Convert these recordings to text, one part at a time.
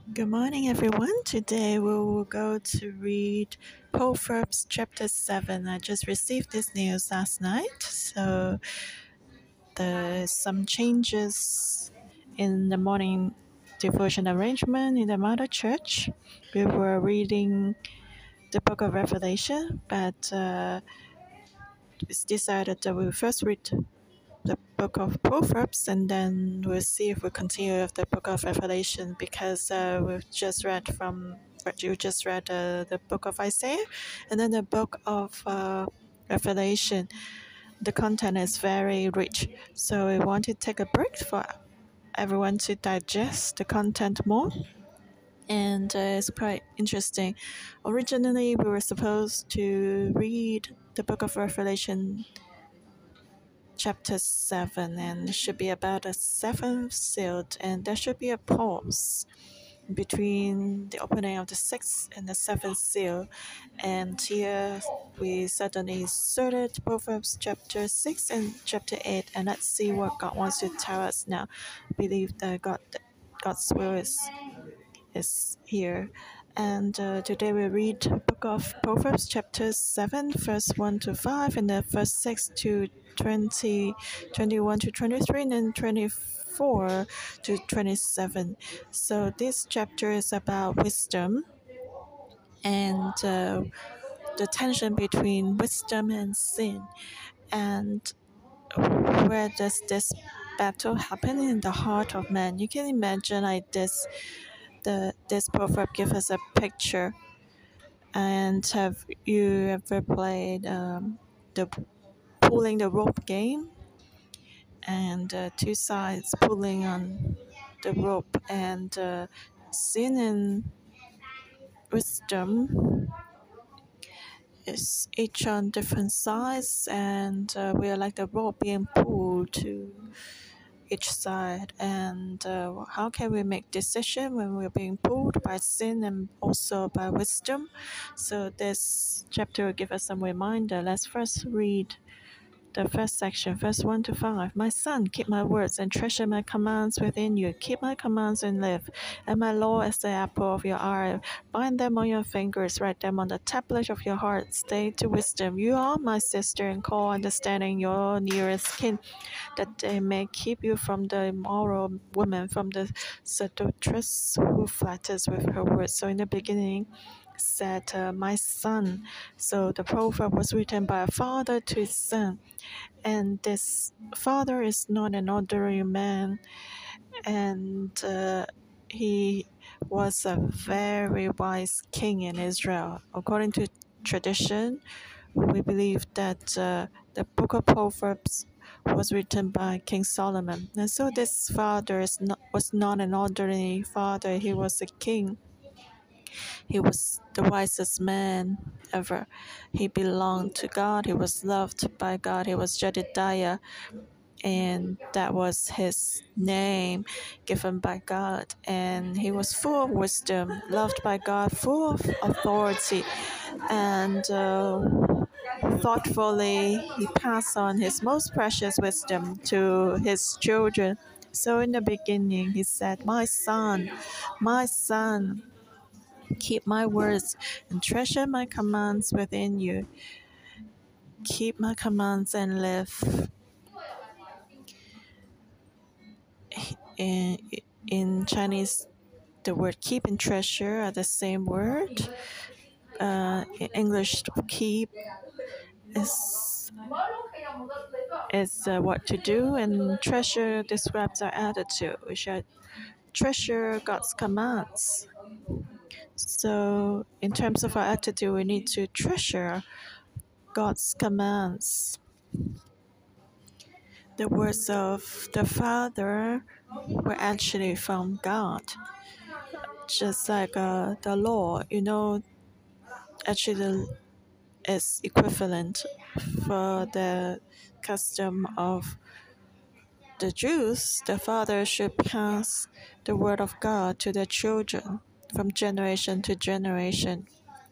Good morning, everyone. Today we will go to read Proverbs chapter 7. I just received this news last night, so there's some changes in the morning devotion arrangement in the Mother Church. We were reading the book of Revelation, but it's decided that we'll first read the book of Proverbs, and then we'll see if we continue with the book of Revelation because we've just read from you just read the book of Isaiah, and then the book of Revelation. The content is very rich, so we want to take a break for everyone to digest the content more. And it's quite interesting. Originally, we were supposed to read the book of Revelation chapter 7, and it should be about a seventh seal, and there should be a pause between the opening of the sixth and the seventh seal. And here we suddenly inserted Proverbs chapter 6 and chapter 8, and let's see what God wants to tell us now. I believe that God's will is here. And today we read book of Proverbs chapter 7, verse 1 to 5, and then verse 6 to 20, 21 to 23, and then 24 to 27. So this chapter is about wisdom and the tension between wisdom and sin. And where does this battle happen? In the heart of man. You can imagine like this. This proverb gives us a picture. And have you ever played the pulling the rope game? And two sides pulling on the rope, and sin and wisdom is each on different sides, and we are like the rope being pulled to each side. And how can we make decision when we're being pulled by sin and also by wisdom? So this chapter will give us some reminder. Let's first read the first section, verse 1 to 5. My son, keep my words and treasure my commands within you. Keep my commands and live, and my law as the apple of your eye. Bind them on your fingers, write them on the tablet of your heart. Stay to wisdom. You are my sister, and call understanding your nearest kin, that they may keep you from the immoral woman, from the seductress who flatters with her words. So in the beginning, said, my son. So the proverb was written by a father to his son. And this father is not an ordinary man, and he was a very wise king in Israel. According to tradition, we believe that the book of Proverbs was written by King Solomon. And so this father was not an ordinary father, he was a king. He was the wisest man ever. He belonged to God. He was loved by God. He was Jedediah, and that was his name given by God. And he was full of wisdom, loved by God, full of authority, and thoughtfully he passed on his most precious wisdom to his children. So in the beginning, he said, my son, keep my words and treasure my commands within you. Keep my commands and live. In Chinese, the word keep and treasure are the same word. In English, keep is what to do, and treasure describes our attitude. We should treasure God's commands. So, in terms of our attitude, we need to treasure God's commands. The words of the Father were actually from God, just like the law. Actually is equivalent for the custom of the Jews. The father should pass the word of God to their children from generation to generation.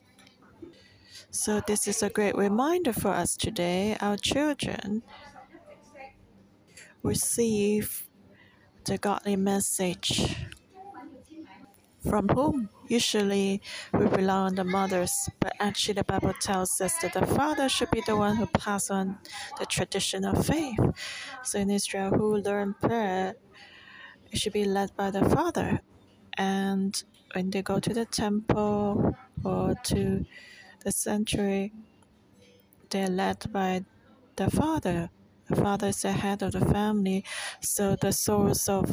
So this is a great reminder for us today. Our children receive the godly message. from whom? Usually we rely on the mothers, but actually the Bible tells us that the father should be the one who pass on the tradition of faith. So in Israel, who learn prayer, it should be led by the father. And when they go to the temple or to the sanctuary, they're led by the father. The father is the head of the family, so the source of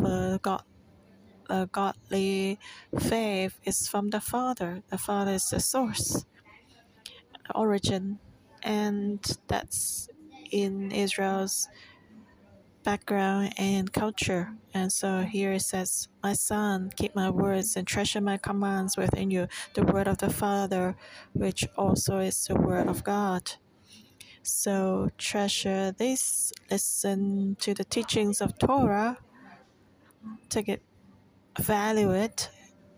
godly faith is from the father. The father is the source, the origin, and that's in Israel's background and culture. And so here it says, "My son, keep my words and treasure my commands within you, the word of the Father, which also is the word of God." So treasure this, listen to the teachings of Torah, take it, value it,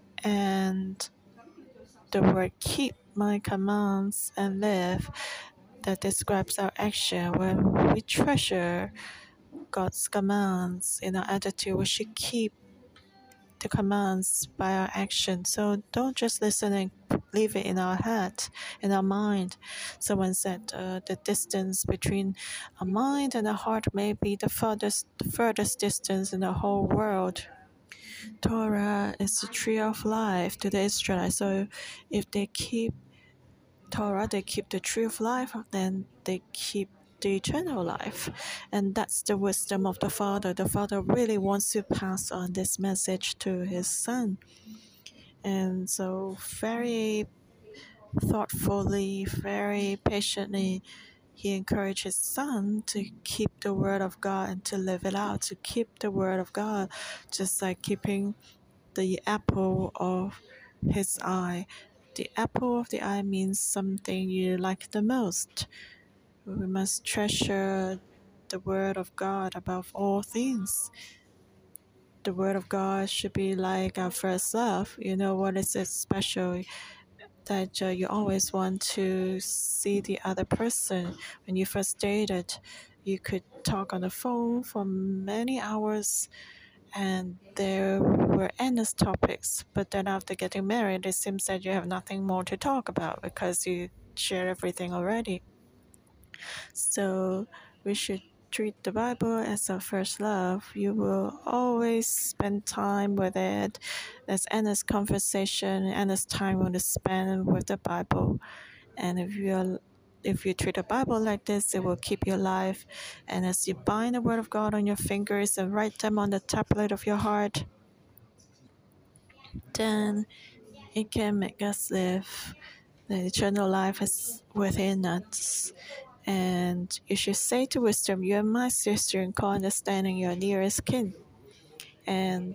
and the word keep my commands and live, that describes our action. When we treasure God's commands in our attitude, we should keep the commands by our action. So don't just listen and leave it in our head, in our mind. Someone said the distance between our mind and our heart may be the furthest distance in the whole world. Torah is the tree of life to the Israelites. So if they keep Torah, they keep the tree of life, then they keep the eternal life. And that's the wisdom of the Father. The Father really wants to pass on this message to his Son. And so, very thoughtfully, very patiently, he encouraged his Son to keep the Word of God and to live it out, to keep the Word of God, just like keeping the apple of his eye. The apple of the eye means something you like the most. We must treasure the Word of God above all things. The Word of God should be like our first love. You know what is it special that you always want to see the other person. When you first dated, you could talk on the phone for many hours and there were endless topics. But then after getting married, it seems that you have nothing more to talk about because you share everything already. So we should treat the Bible as our first love. You will always spend time with it. There's endless conversation, endless time to spend with the Bible. And if you treat the Bible like this, it will keep you alive. And as you bind the Word of God on your fingers and write them on the tablet of your heart, then it can make us live. The eternal life is within us. And you should say to wisdom, "You are my sister," and call understanding your nearest kin. And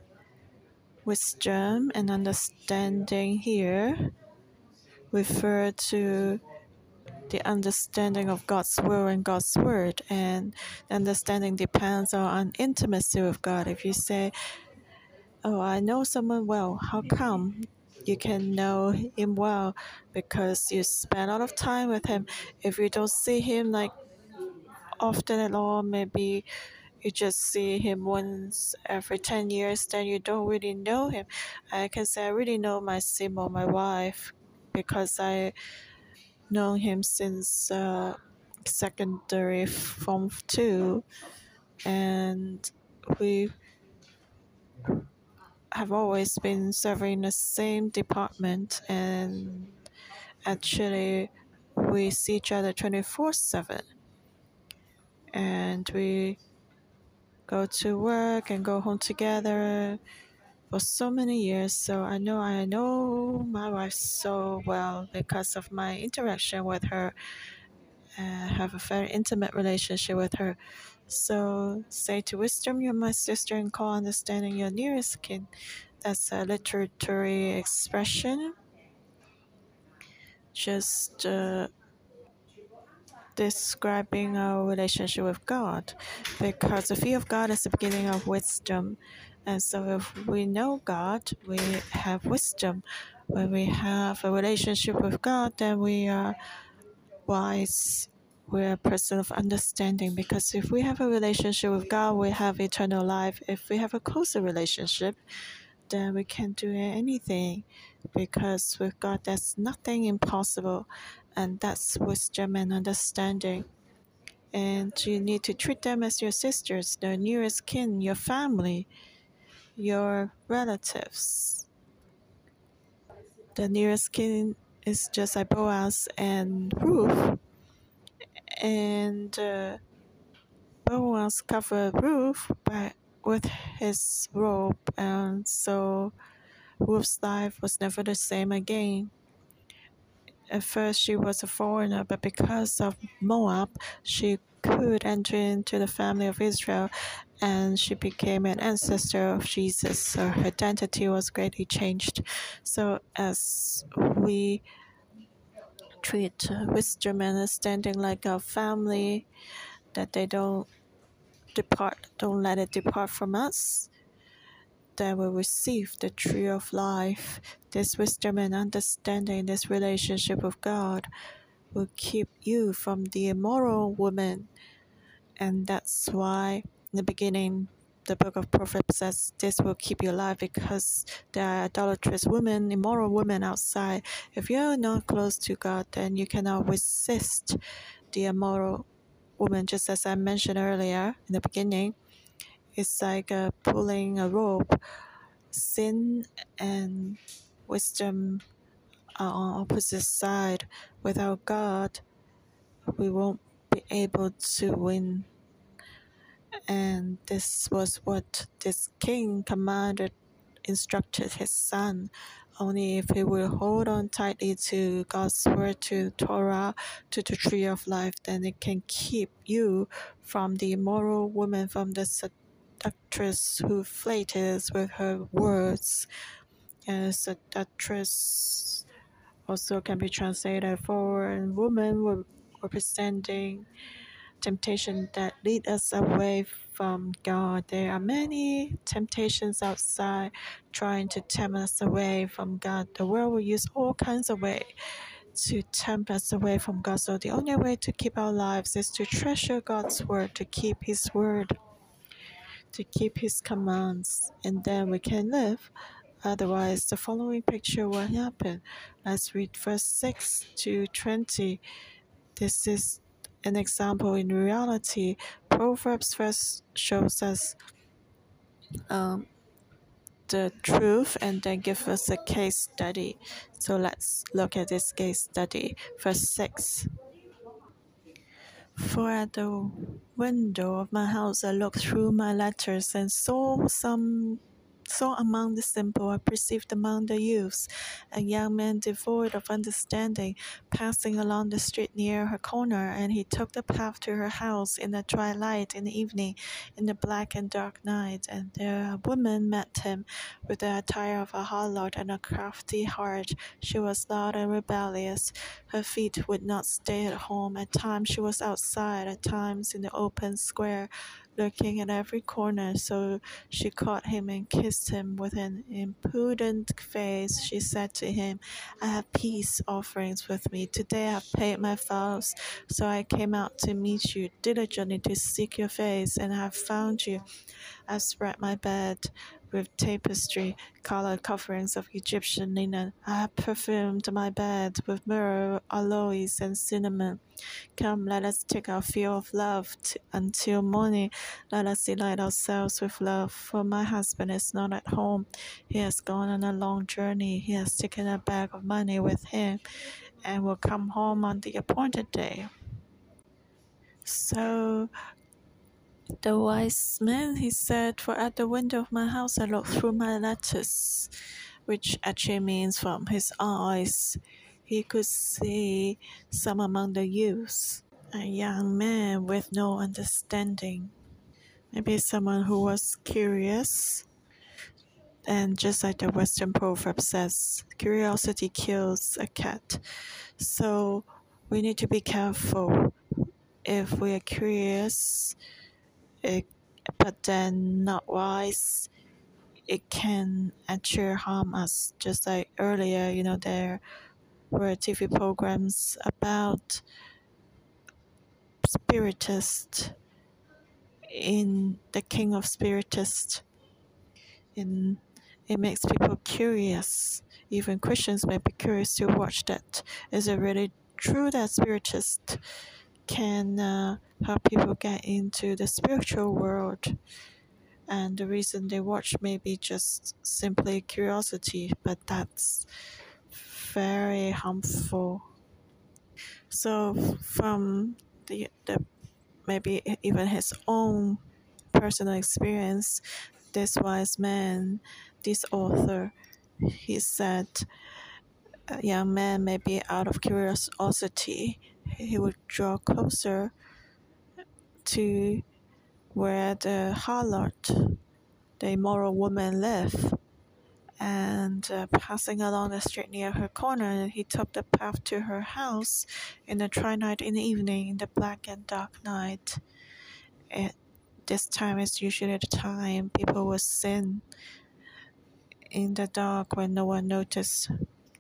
wisdom and understanding here refer to the understanding of God's will and God's word. And understanding depends on intimacy with God. If you say, "Oh, I know someone well," how come? You can know him well because you spend a lot of time with him. If you don't see him like often at all, maybe you just see him once every 10 years, then you don't really know him. I can say I really know my Simo, my wife, because I know him since secondary form 2, and we have always been serving the same department, and actually we see each other 24/7, and we go to work and go home together for so many years. So I know my wife so well because of my interaction with her. I have a very intimate relationship with her. So say to wisdom, "You're my sister," and call understanding your nearest kin. That's a literary expression, just describing our relationship with God, because the fear of God is the beginning of wisdom. And so if we know God, we have wisdom. When we have a relationship with God, then we are wise. We're a person of understanding, because if we have a relationship with God, we have eternal life. If we have a closer relationship, then we can do anything, because with God there's nothing impossible, and that's wisdom and understanding. And you need to treat them as your sisters, the nearest kin, your family, your relatives. The nearest kin is just like Boaz and Ruth, and Boaz covered Ruth with his robe, and so Ruth's life was never the same again. At first, she was a foreigner, but because of Moab, she could enter into the family of Israel, and she became an ancestor of Jesus. So her identity was greatly changed. So as we treat wisdom and understanding like our family, that they don't let it depart from us, then we receive the tree of life. This wisdom and understanding, this relationship with God, will keep you from the immoral woman. And that's why in the beginning the book of Proverbs says this will keep you alive, because there are idolatrous women, immoral women outside. If you're not close to God, then you cannot resist the immoral woman. Just as I mentioned earlier in the beginning, it's like pulling a rope. Sin and wisdom are on opposite side. Without God, we won't be able to win. And this was what this king instructed his son. Only if he will hold on tightly to God's word, to Torah, to the tree of life, then it can keep you from the immoral woman, from the seductress who flatters with her words. And seductress also can be translated foreign woman, representing temptation that lead us away from God. There are many temptations outside trying to tempt us away from God. The world will use all kinds of ways to tempt us away from God. So the only way to keep our lives is to treasure God's word, to keep his word, to keep his commands, and then we can live. Otherwise, the following picture will happen. Let's read verse 6 to 20. This is an example in reality. Proverbs first shows us the truth and then give us a case study. So let's look at this case study. Verse 6. For at the window of my house I looked through my letters and saw among the simple, I perceived among the youths, a young man devoid of understanding, passing along the street near her corner, and he took the path to her house in the twilight, in the evening, in the black and dark night. And there a woman met him, with the attire of a harlot and a crafty heart. She was loud and rebellious. Her feet would not stay at home. At times she was outside, at times in the open square, lurking at every corner. So she caught him and kissed him. With an impudent face, she said to him, I have peace offerings with me. Today I have paid my vows. So I came out to meet you, diligently to seek your face, and I have found you. I spread my bed with tapestry, colored coverings of Egyptian linen. I have perfumed my bed with myrrh, aloes, and cinnamon. Come, let us take our fill of love until morning. Let us delight ourselves with love, for my husband is not at home. He has gone on a long journey. He has taken a bag of money with him and will come home on the appointed day. So the wise man, he said, for at the window of my house I looked through my lattice, which actually means from his eyes. He could see some among the youths, a young man with no understanding. Maybe someone who was curious. And just like the Western proverb says, curiosity kills a cat. So we need to be careful. If we are curious, but then not wise, it can actually harm us. Just like earlier, there were TV programs about spiritists in the king of spiritists in it makes people curious. Even Christians may be curious to watch that. Is it really true that spiritists can help people get into the spiritual world? And the reason they watch may be just simply curiosity, but that's very harmful. So from the maybe even his own personal experience, this wise man, this author, he said a young man maybe out of curiosity, he would draw closer to where the harlot, the immoral woman, lived. And passing along the street near her corner, he took the path to her house in the twilight in the evening, in the black and dark night. This time is usually the time people will sin in the dark when no one noticed,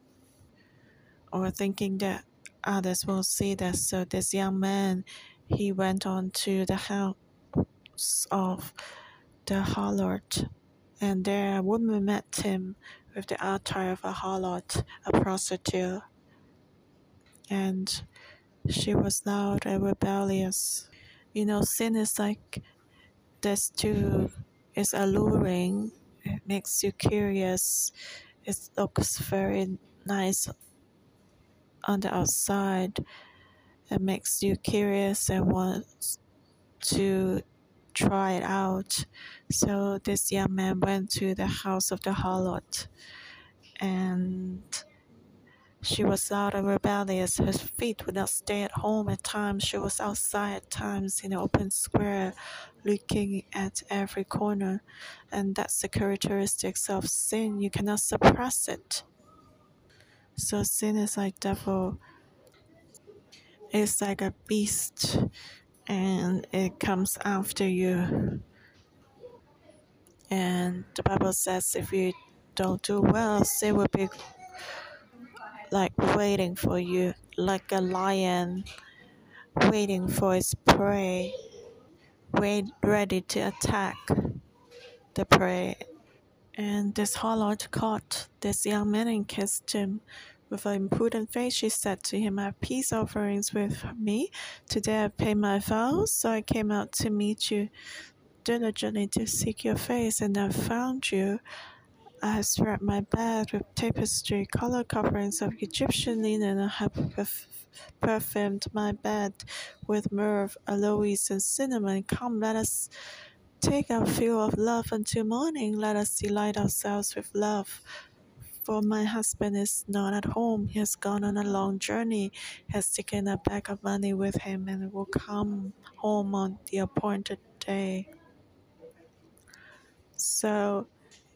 or thinking that others will see that. So this young man, he went on to the house of the harlot, and there a woman met him with the attire of a harlot, a prostitute, and she was loud and rebellious. Sin is like this too. It's alluring. It makes you curious. It looks very nice on the outside. It makes you curious and want to try it out. So this young man went to the house of the harlot, and she was loud and rebellious. Her feet would not stay at home at times. She was outside at times in the open square, looking at every corner. And that's the characteristics of sin. You cannot suppress it. So sin is like devil. It's like a beast, and it comes after you. And the Bible says if you don't do well, sin will be like waiting for you, like a lion waiting for its prey, ready to attack the prey. And this harlot caught this young man and kissed him. With an impudent face, she said to him, I have peace offerings with me. Today I paid my vows, so I came out to meet you diligently to seek your face, and I found you. I have spread my bed with tapestry, color coverings of Egyptian linen. I have perfumed my bed with myrrh, aloes, and cinnamon. Come, let us take our fill of love until morning. Let us delight ourselves with love. For my husband is not at home. He has gone on a long journey, has taken a bag of money with him, and will come home on the appointed day. So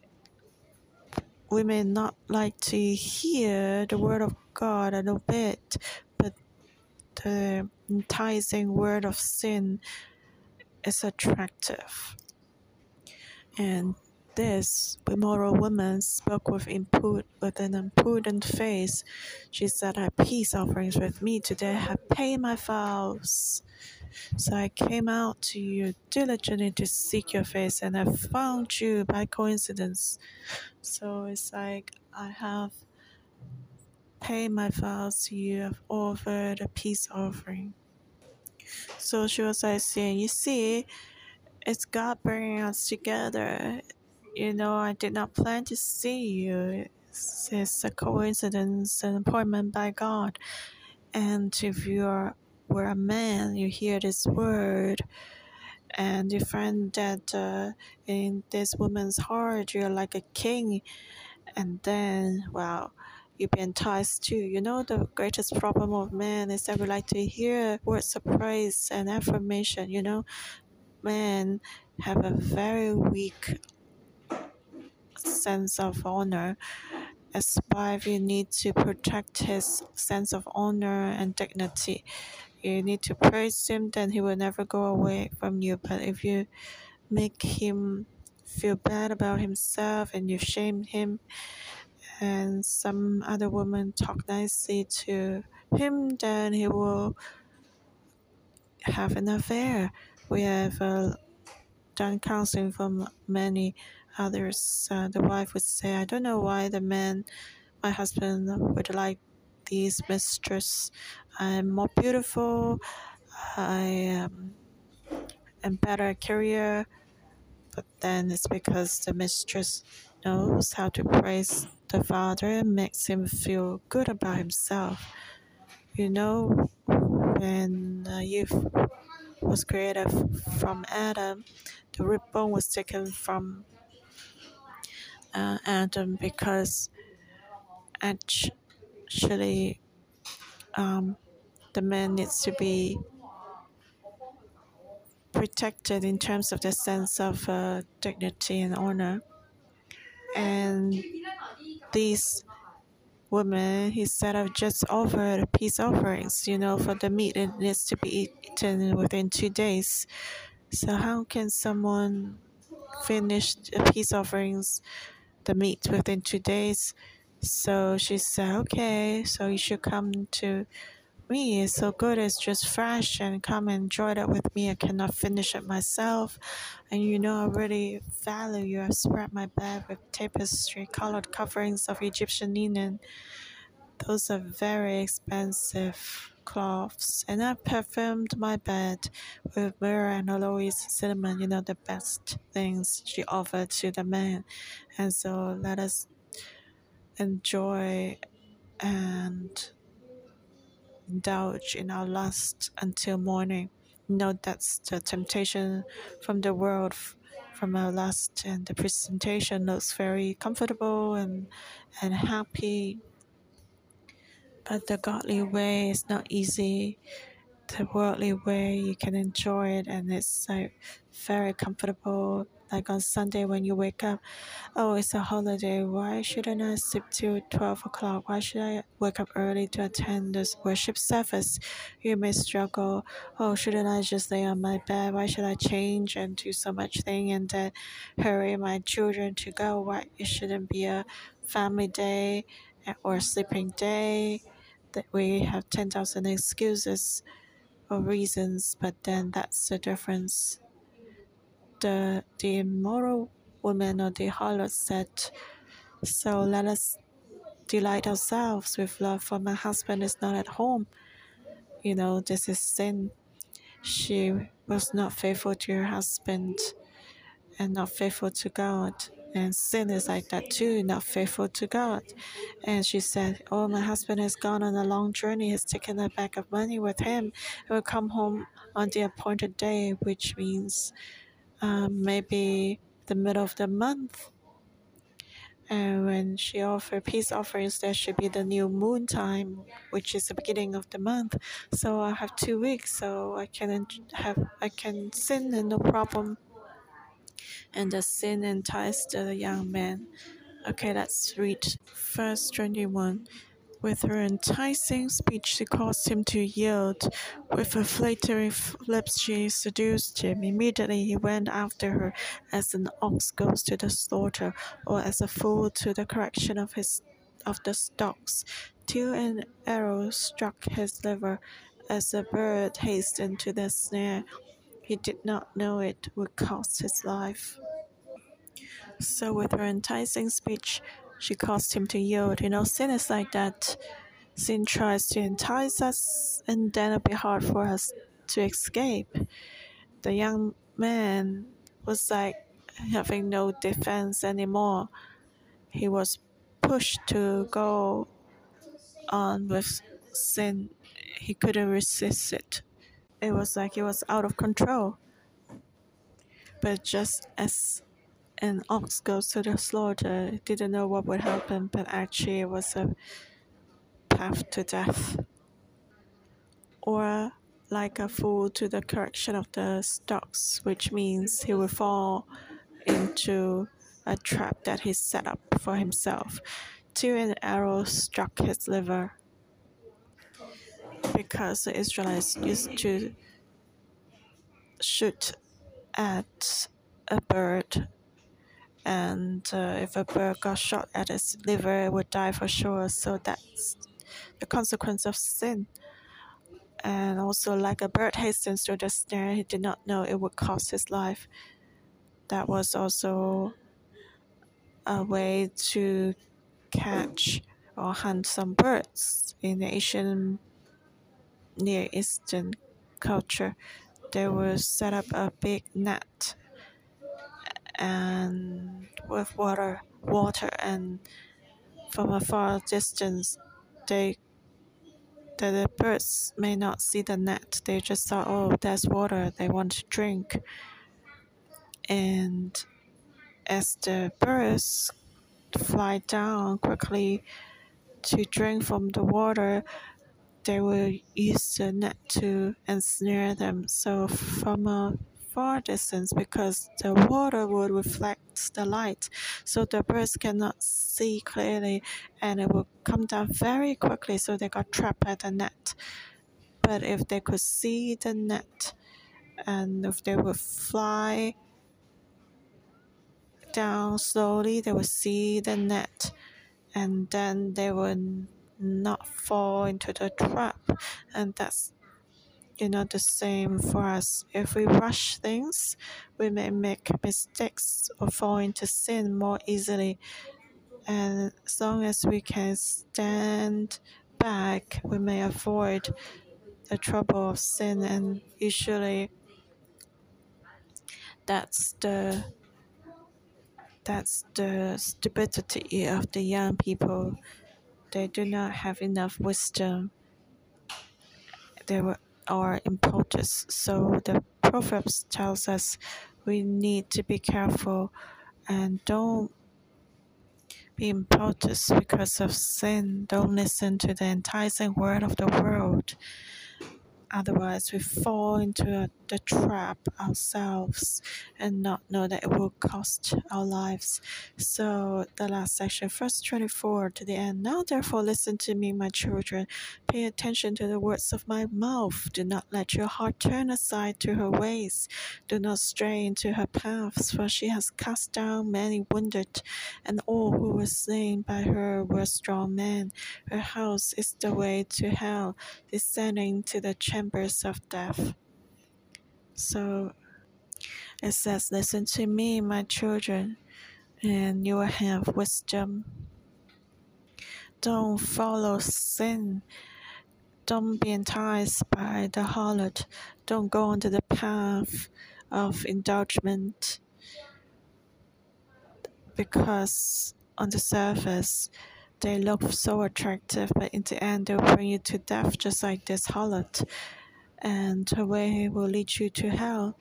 we may not like to hear the word of God a little bit, but the enticing word of sin is attractive. And this immoral woman spoke with an impudent face. She said, I have peace offerings with me today. I have paid my vows. So I came out to you diligently to seek your face, and I found you by coincidence. So it's like I have paid my vows to you. I've offered a peace offering. So she was like saying, you see, it's God bringing us together. I did not plan to see you. It's a coincidence, an appointment by God. And if were a man, you hear this word, and you find that in this woman's heart, you're like a king. And then, wow, you'll be enticed too. The greatest problem of man is that we like to hear words of praise and affirmation. Men have a very weak sense of honor. As wife, you need to protect his sense of honor and dignity. You need to praise him, then he will never go away from you. But if you make him feel bad about himself and you shame him, and some other woman talk nicely to him, then he will have an affair. We have done counseling for many Others, the wife would say, I don't know why my husband would like these mistress. I'm more beautiful. I am better career. But then it's because the mistress knows how to praise the father and makes him feel good about himself. You know, when Eve was created from Adam, the rib bone was taken from Adam because actually the man needs to be protected in terms of the sense of dignity and honor. And these women, instead of just offer peace offerings, for the meat, it needs to be eaten within 2 days. So how can someone finish the peace offerings, the meat within 2 days? So she said, okay, so you should come to me. It's so good, it's just fresh, and come enjoy that with me. I cannot finish it myself. And I really value you. I spread my bed with tapestry colored coverings of Egyptian linen. Those are very expensive cloths. And I perfumed my bed with myrrh and aloes cinnamon, the best things she offered to the man. And so let us enjoy and indulge in our lust until morning. That's the temptation from the world, from our lust, and the presentation looks very comfortable and happy. But the godly way is not easy. The worldly way, you can enjoy it, and it's like very comfortable. Like on Sunday when you wake up, oh, it's a holiday. Why shouldn't I sleep till 12 o'clock? Why should I wake up early to attend this worship service? You may struggle. Oh, shouldn't I just lay on my bed? Why should I change and do so much thing and then hurry my children to go? Why it shouldn't be a family day or a sleeping day? That we have 10,000 excuses or reasons, but then that's the difference. The immoral woman or the harlot said, so let us delight ourselves with love, for my husband is not at home. This is sin. She was not faithful to her husband and not faithful to God. And sin is like that too, not faithful to God. And she said, oh, my husband has gone on a long journey. He's taken a bag of money with him. He will come home on the appointed day, which means maybe the middle of the month. And when she offered peace offerings, there should be the new moon time, which is the beginning of the month. So I have 2 weeks, so I can sin and no problem. And the sin enticed the young man. Okay, let's read verse 21. With her enticing speech, she caused him to yield. With her flattering lips, she seduced him. Immediately he went after her, as an ox goes to the slaughter, or as a fool to the correction of the stocks, till an arrow struck his liver, as a bird hastened to the snare. He did not know it would cost his life. So with her enticing speech, she caused him to yield. Sin is like that. Sin tries to entice us, and then it'll be hard for us to escape. The young man was like having no defense anymore. He was pushed to go on with sin. He couldn't resist it. It was like he was out of control. But just as an ox goes to the slaughter, didn't know what would happen, but actually it was a path to death. Or like a fool to the correction of the stocks, which means he will fall into a trap that he set up for himself. Till an arrow struck his liver, because the Israelites used to shoot at a bird, and if a bird got shot at its liver, it would die for sure. So that's the consequence of sin. And also, like a bird hastens to the snare, he did not know it would cost his life. That was also a way to catch or hunt some birds in the Asian Near Eastern culture. They will set up a big net and with water, and from a far distance, they the birds may not see the net. They just thought, oh, there's water. They want to drink, and as the birds fly down quickly to drink from the water, they will use the net to ensnare them. So from a far distance, because the water will reflect the light, so the birds cannot see clearly, and it will come down very quickly. So they got trapped at the net. But if they could see the net, and if they would fly down slowly, they would see the net, and then they would not fall into the trap. And that's the same for us. If we rush things, we may make mistakes or fall into sin more easily. And as long as we can stand back, we may avoid the trouble of sin. And usually that's the stupidity of the young people. They do not have enough wisdom. Are impetuous. So the Proverbs tells us we need to be careful and don't be impetuous because of sin. Don't listen to the enticing word of the world. Otherwise, we fall into the trap ourselves and not know that it will cost our lives. So, the last section, verse 24 to the end. Now, therefore, listen to me, my children. Pay attention to the words of my mouth. Do not let your heart turn aside to her ways. Do not stray into her paths, for she has cast down many wounded, and all who were slain by her were strong men. Her house is the way to hell, descending to the chambers of death. So it says, listen to me, my children, and you will have wisdom. Don't follow sin. Don't be enticed by the harlot. Don't go onto the path of indulgence, because on the surface they look so attractive, but in the end they'll bring you to death, just like this harlot. And her way will lead you to hell.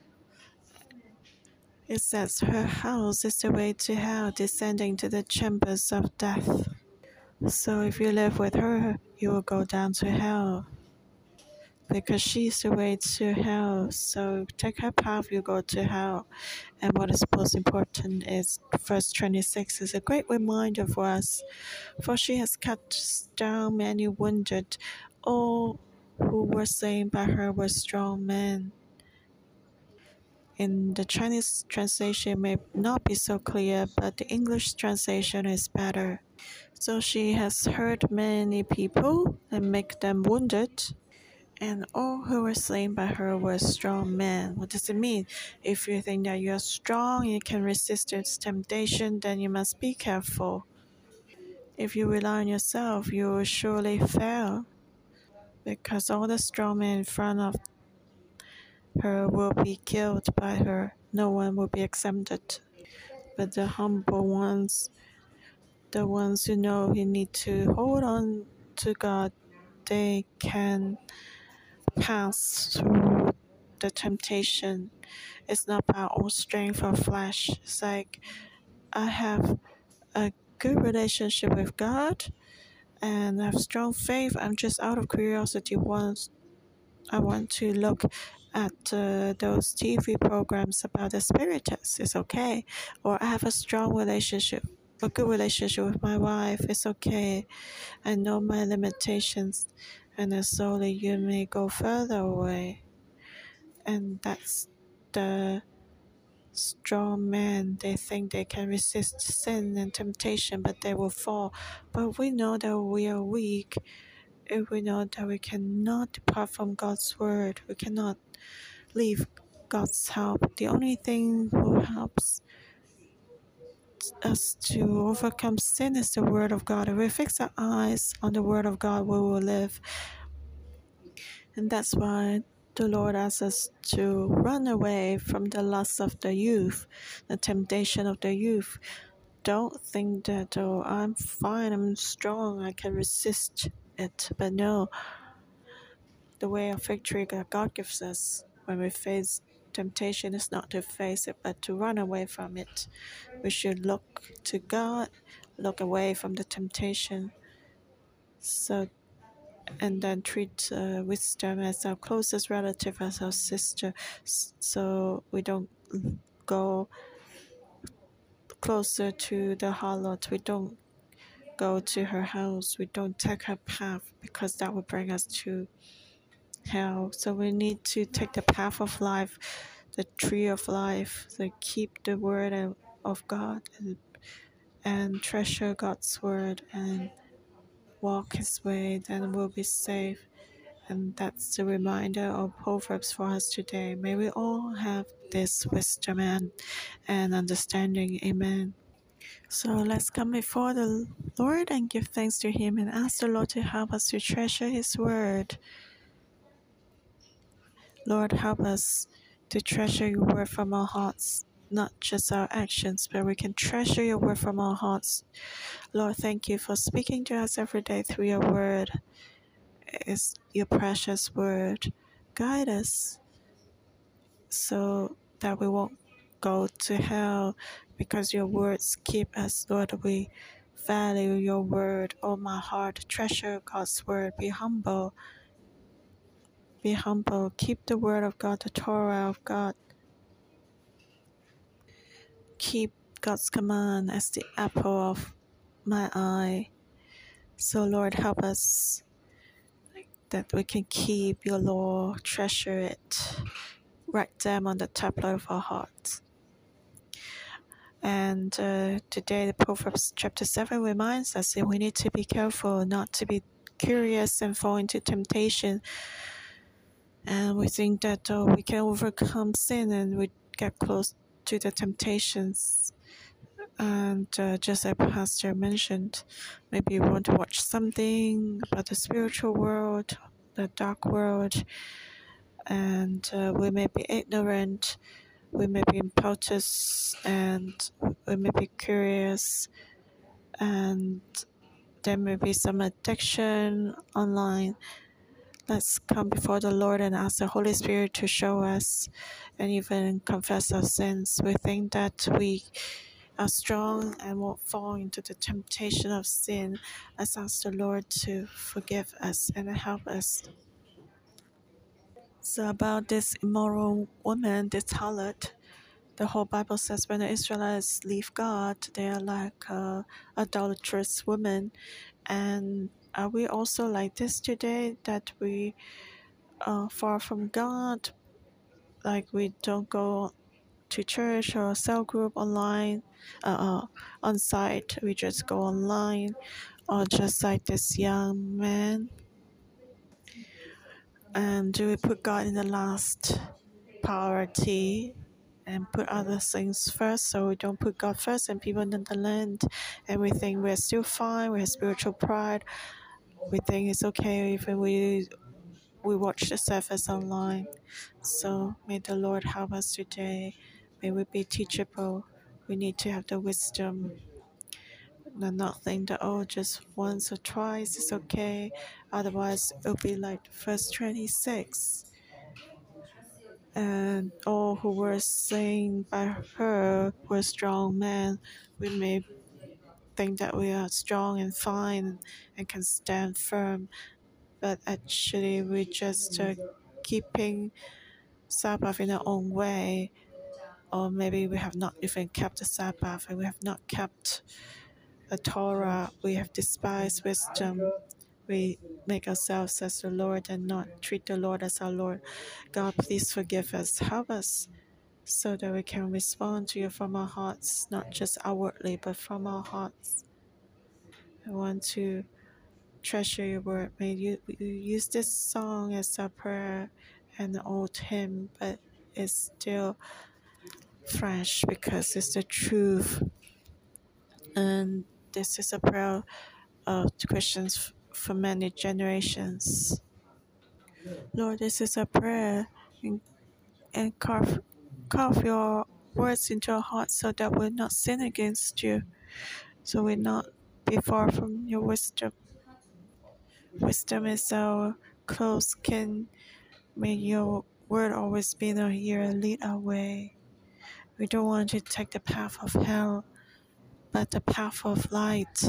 It says her house is the way to hell, descending to the chambers of death. So if you live with her, you will go down to hell, because she's the way to hell. So take her path, you go to hell. And what is most important is verse 26 is a great reminder for us. For she has cut down many wounded. All who were slain by her were strong men. In the Chinese translation, may not be so clear, but the English translation is better. So she has hurt many people and make them wounded, and all who were slain by her were strong men. What does it mean? If you think that you are strong, you can resist its temptation, then you must be careful. If you rely on yourself, you will surely fail, because all the strong men in front of her will be killed by her. No one will be exempted. But the humble ones, the ones who know you need to hold on to God, they can pass through the temptation. It's not by our own strength or flesh. It's like, I have a good relationship with God and I have strong faith. I'm just out of curiosity. I want to look at those TV programs about the spiritists. It's okay. Or I have a good relationship with my wife. It's okay. I know my limitations, and then slowly you may go further away. And that's the strong men. They think they can resist sin and temptation, but they will fall. But we know that we are weak. If we know that we cannot depart from God's word, we cannot leave God's help. The only thing who helps us to overcome sin is the Word of God. If we fix our eyes on the Word of God, we will live. And that's why the Lord asks us to run away from the lust of the youth, the temptation of the youth. Don't think that, oh, I'm fine, I'm strong, I can resist it. But no, the way of victory that God gives us when we face temptation is not to face it, but to run away from it. We should look to God, look away from the temptation. So, and then treat wisdom as our closest relative, as our sister, so we don't go closer to the harlot. We don't go to her house. We don't take her path, because that will bring us to hell. So we need to take the path of life, the tree of life. So keep the word of God and treasure God's word and walk His way. Then we'll be safe. And that's the reminder of Proverbs for us today. May we all have this wisdom and understanding. Amen. So let's come before the Lord and give thanks to Him and ask the Lord to help us to treasure His word. Lord, help us to treasure your word from our hearts, not just our actions, but we can treasure your word from our hearts. Lord, thank you for speaking to us every day through your word. It's your precious word. Guide us so that we won't go to hell, because your words keep us. Lord, we value your word. Oh, my heart, treasure God's word. Be humble. Be humble. Keep the word of God, the Torah of God. Keep God's command as the apple of my eye. So, Lord, help us that we can keep your law, treasure it, write them on the tablet of our hearts. And today, the Proverbs chapter 7 reminds us that we need to be careful not to be curious and fall into temptation. And we think that we can overcome sin and we get close to the temptations. And just as Pastor mentioned, maybe you want to watch something about the spiritual world, the dark world, and we may be ignorant, we may be impetuous, and we may be curious, and there may be some addiction online. Let's come before the Lord and ask the Holy Spirit to show us and even confess our sins. We think that we are strong and won't fall into the temptation of sin. Let's ask the Lord to forgive us and help us. So about this immoral woman, this harlot, the whole Bible says when the Israelites leave God, they are like adulterous women. And are we also like this today, that we are far from God, like we don't go to church or cell group online, on site, we just go online, or just like this young man? And do we put God in the last priority and put other things first, so we don't put God first and people in the land, and we think we're still fine, we have spiritual pride, we think it's okay if we watch the service online? So may the Lord help us today. May we be teachable. We need to have the wisdom and not think that, oh, just once or twice is okay. Otherwise, it'll be like verse 26. And all who were slain by her were strong men. We may think that we are strong and fine and can stand firm, but actually we're just keeping Sabbath in our own way. Or maybe we have not even kept the Sabbath, and we have not kept the Torah. We have despised wisdom. We make ourselves as the Lord and not treat the Lord as our Lord. God, please forgive us. Help us so that we can respond to you from our hearts, not just outwardly, but from our hearts. I want to treasure your word. May you use this song as a prayer and an old hymn, but it's still fresh because it's the truth. And this is a prayer of Christians for many generations. Lord, this is a prayer, and carve your words into our hearts so that we'll not sin against you, so we'll not be far from your wisdom. Wisdom is our close kin. May your word always be in our ear and lead our way. We don't want to take the path of hell, but the path of light.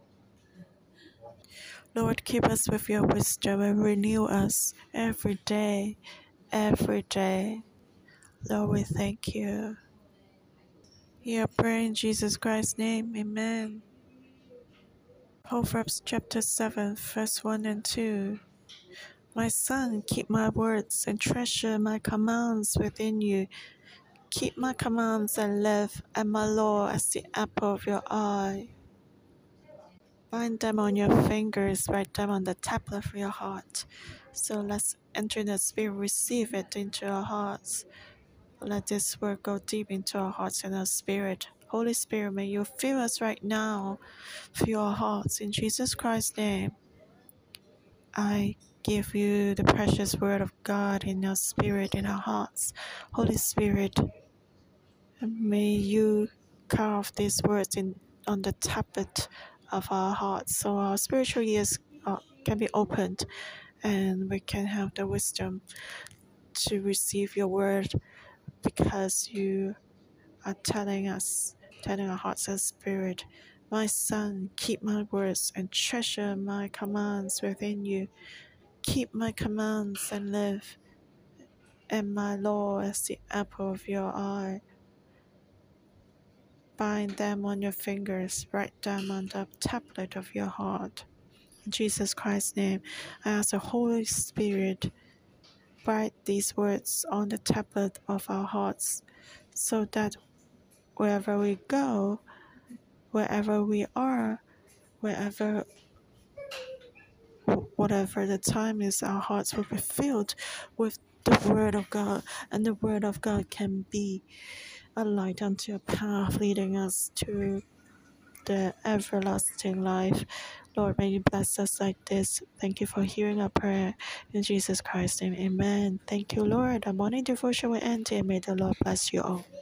Lord, keep us with your wisdom and renew us every day, every day. Lord, we thank you. Hear prayer in Jesus Christ's name. Amen. Proverbs chapter 7, verse 1 and 2. My son, keep my words and treasure my commands within you. Keep my commands and live, and my law as the apple of your eye. Bind them on your fingers, write them on the tablet of your heart. So let's enter in the Spirit, receive it into our hearts. Let this word go deep into our hearts and our spirit. Holy Spirit, may you fill us right now, fill our hearts. In Jesus Christ's name, I give you the precious word of God in our spirit, in our hearts. Holy Spirit, may you carve these words on the tablet of our hearts so our spiritual ears can be opened and we can have the wisdom to receive your word, because you are telling our hearts and spirit, my son, keep my words and treasure my commands within you. Keep my commands and live, and my law as the apple of your eye. Bind them on your fingers, write them on the tablet of your heart. In Jesus Christ's name, I ask the Holy Spirit, write these words on the tablet of our hearts, so that wherever we go, wherever we are, whatever the time is, our hearts will be filled with the Word of God, and the Word of God can be a light unto a path leading us to the everlasting life. Lord, may you bless us like this. Thank you for hearing our prayer. In Jesus Christ's name, amen. Thank you, Lord. Our morning devotion will end here. May the Lord bless you all.